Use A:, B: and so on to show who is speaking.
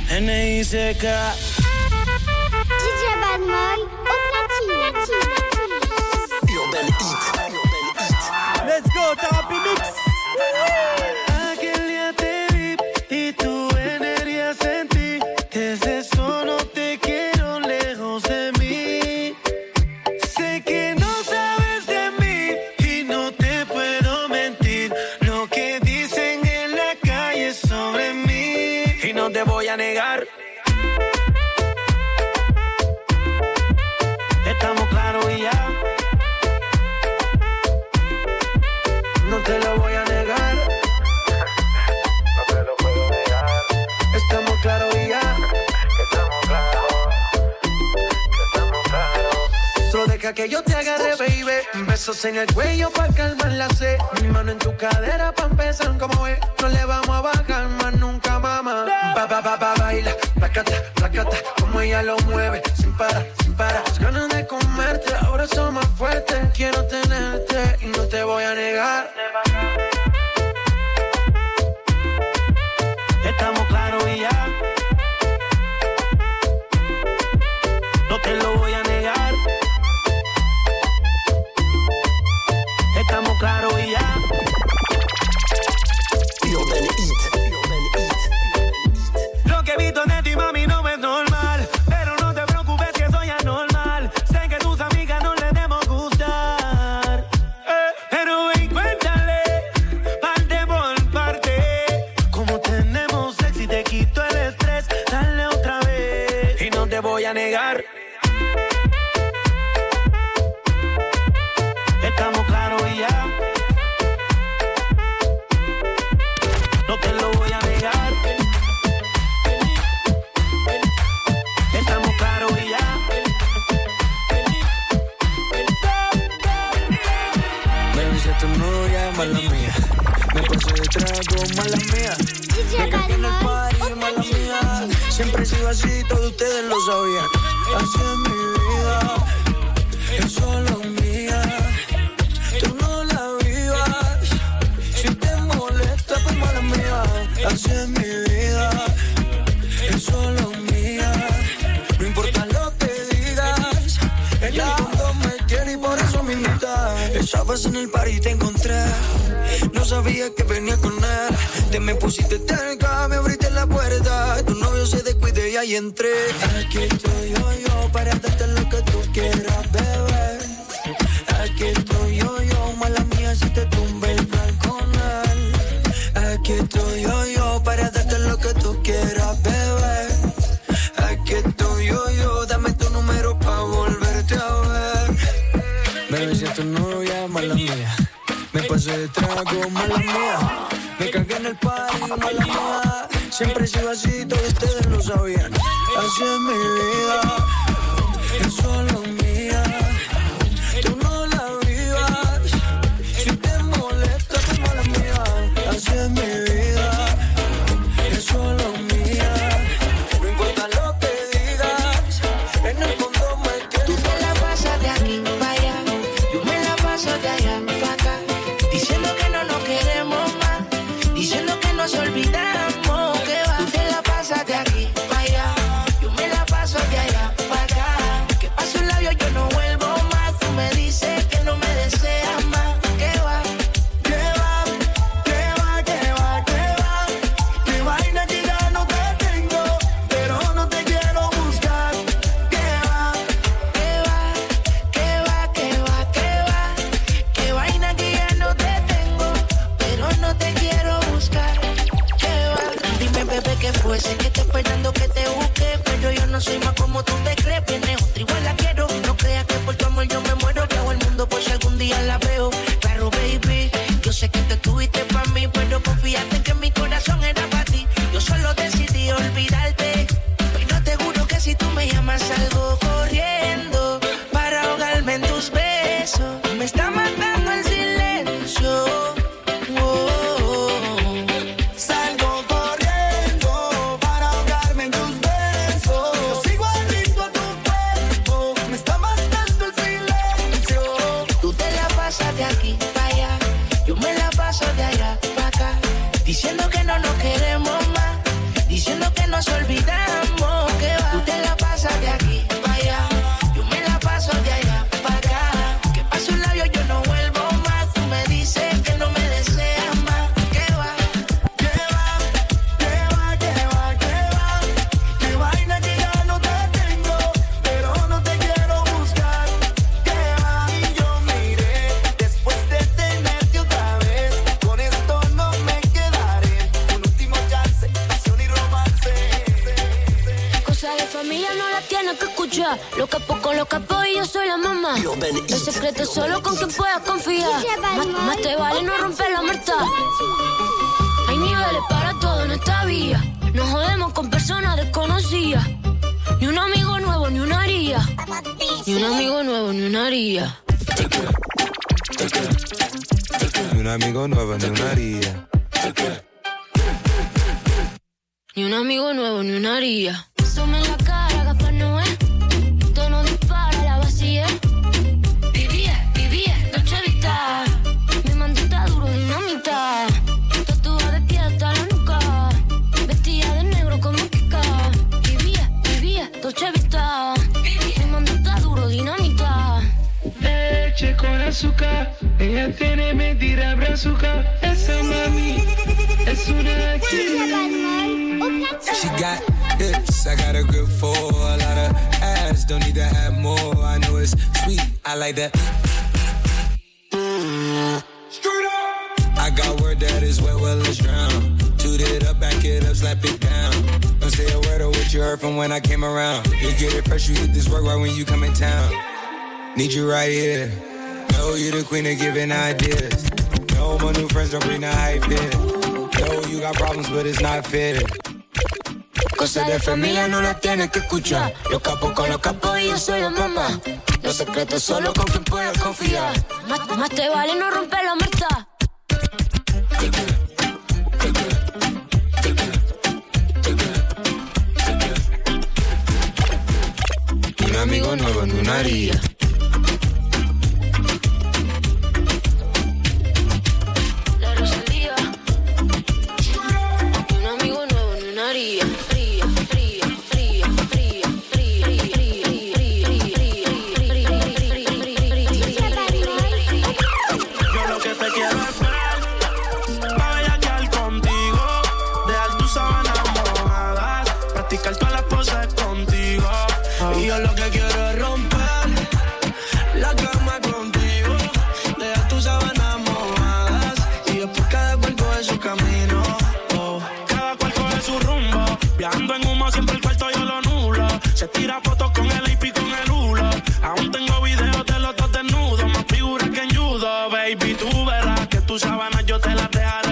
A: N.I.C.K.
B: DJ Badman au platine.
C: Urban Heat.
D: Let's go, Therapy Mix.
A: Aquel día te vi y tu energía sentí. Desde eso no te quiero lejos de mí. Sé que no sabes de mí y no te puedo mentir. Lo que dicen en la calle sobre mí y no te voy a negar. Estamos claros y ya. No te lo voy a negar.
E: No te lo puedo negar.
A: Estamos claros y ya.
E: Estamos claros. Estamos claros.
A: Solo deja que yo te agarre, baby. Besos en el cuello pa' calmar la sed. Mi mano en tu cadera pa' empezar como es. No le vamos a bajar más nunca, mamá. Baila, placata, placata. Como ella lo mueve, sin parar, sin parar. Las ganas de comerte, ahora son más fuertes. Quiero tenerte y no te voy a negar. Estamos claros y ya. No te lo voy a negar. Estamos claros y ya.
C: Urban Heat.
A: Lo que he visto de ti, mami, no es normal. Pero no te preocupes que soy anormal. Sé que tus amigas no les debemos gustar. Pero ven, cuéntale, parte por parte. Como tenemos sexy, te quito el estrés. Dale otra vez y no te voy a negar. Estamos claros y ya. No te lo voy a negar. Estamos claros y ya.
F: Baby, si tu novia, mala mía. Me pasé de trago, mala mía. Me cagué en el party, mala mía. Siempre he sido así, todos ustedes lo sabían. Así es mi vida, es solo mía. Tú no la vivas. Si te molesta, pues mala mía. Así es mi vida, es solo mía. No importa lo que digas, ella en el fondo me quiere y por eso me invita. Estabas en el party y te encontré. No sabía que venía con él. Te me pusiste cerca, me abriste la puerta. Tu novio se descuide y ahí entré. Aquí estoy yo para darte lo que tú quieras, bebé. Aquí estoy yo, mala mía si te tumbe el plan con él. Aquí estoy yo para darte lo que tú quieras, bebé. Aquí estoy yo, dame tu número pa' volverte a ver. Bebé, si es tu novia, mala mía. Me pasé de trago, mala mía. Me cagué en el party, mala mía. Siempre he sido así, todos ustedes lo sabían. Así es mi vida, es solo mía. Tú no la vivas. Si te molesta, pues mala mía. Así es mi vida, es solo mía. No importa lo que digas, en el fondo me quieres.
G: Tú te la pasas de aquí para allá, yo me la paso de allá para acá. Diciendo que no nos queremos más, diciendo que nos olvidamos, que va. Tú te la pasas de aquí para allá, yo me la paso de allá para acá. Que paso un labio, yo no vuelvo más. Tú me dices que no me deseas más, que va. Que va, que va, que va, que va. Que vaina que ya no te tengo, pero no te quiero buscar. Que va, que va, que va, que va, que va. Que vaina que ya no te tengo, pero no te quiero buscar. Que va. Dime, bebé, ¿qué fue? Sé que estoy esperando que te busque, pero yo no soy más como tú te crees. Viene otra, igual la quiero. No creas que por tu amor yo me muero. Que hago el mundo por si algún día la veo. Claro, baby, yo sé que te tuviste para mí, pero confíate en que mi corazón era para ti. Yo solo decidí olvidarte, pero te juro que si tú me llamas salgo corriendo para ahogarme en tus besos. Me está matando el silencio. Salgo corriendo para ahogarme en tus besos. Yo sigo adicto a tu cuerpo, me está matando el silencio. Tú te la pasas de aquí para allá, yo me la paso de allá para acá. Diciendo que no nos queremos.
H: tienes que escuchar. Los capos con los capos y yo soy la mamá. El secreto es solo con quien puedas confiar. Más te vale no romper la muerta. Hay niveles para todo en esta vía. Nos jodemos con personas desconocidas. Ni un amigo nuevo, ni una haría. Ni un amigo nuevo, ni una haría.
I: Ni un amigo nuevo, ni una haría.
H: Ni un amigo nuevo, ni una haría. Some en la cara, Gaspar Noé. Tono dispara, la vacía. Vivía, Dolce Vita. Mi mandita duro, dinamita. Tatuada de pie hasta la nuca. Vestida de negro como Kika. Vivía, Dolce Vita. Mi mandita duro, dinamita.
J: Leche con azúcar. Ella tiene mentira brazuca. Esa mami es una chica.
I: She got hips, I got a grip for a lot of ass. Don't need to have more, I know it's sweet, I like that. Straight up. I got word that is wet, well it's drown. Toot it up, back it up, slap it down. Don't say a word of what you heard from when I came around. You get it fresh, you hit this work right when you come in town. Need you right here. Know you the queen of giving ideas. No, my new friends don't bring the hype here. Know you got problems, but it's not fair.
H: Cosas de familia no las tienes que escuchar. Los capos con los capos y yo soy la mamá. Los secretos solo con quien puedas confiar. Más te vale no romper la muerta.
I: Ni un amigo nuevo, ni una haría.
H: La Rosalía. Ni un amigo nuevo, ni una haría.
J: Todas las poses contigo. Y yo lo que quiero es romper la cama contigo. Deja tus sábanas mojadas y después cada cual coge su camino. Cada cual coge su rumbo. Viajando en humo siempre el cuarto yo lo nulo. Se tira fotos con el AP con el hulo. Aún tengo videos de los dos desnudos. Más figuras que en judo, baby, tú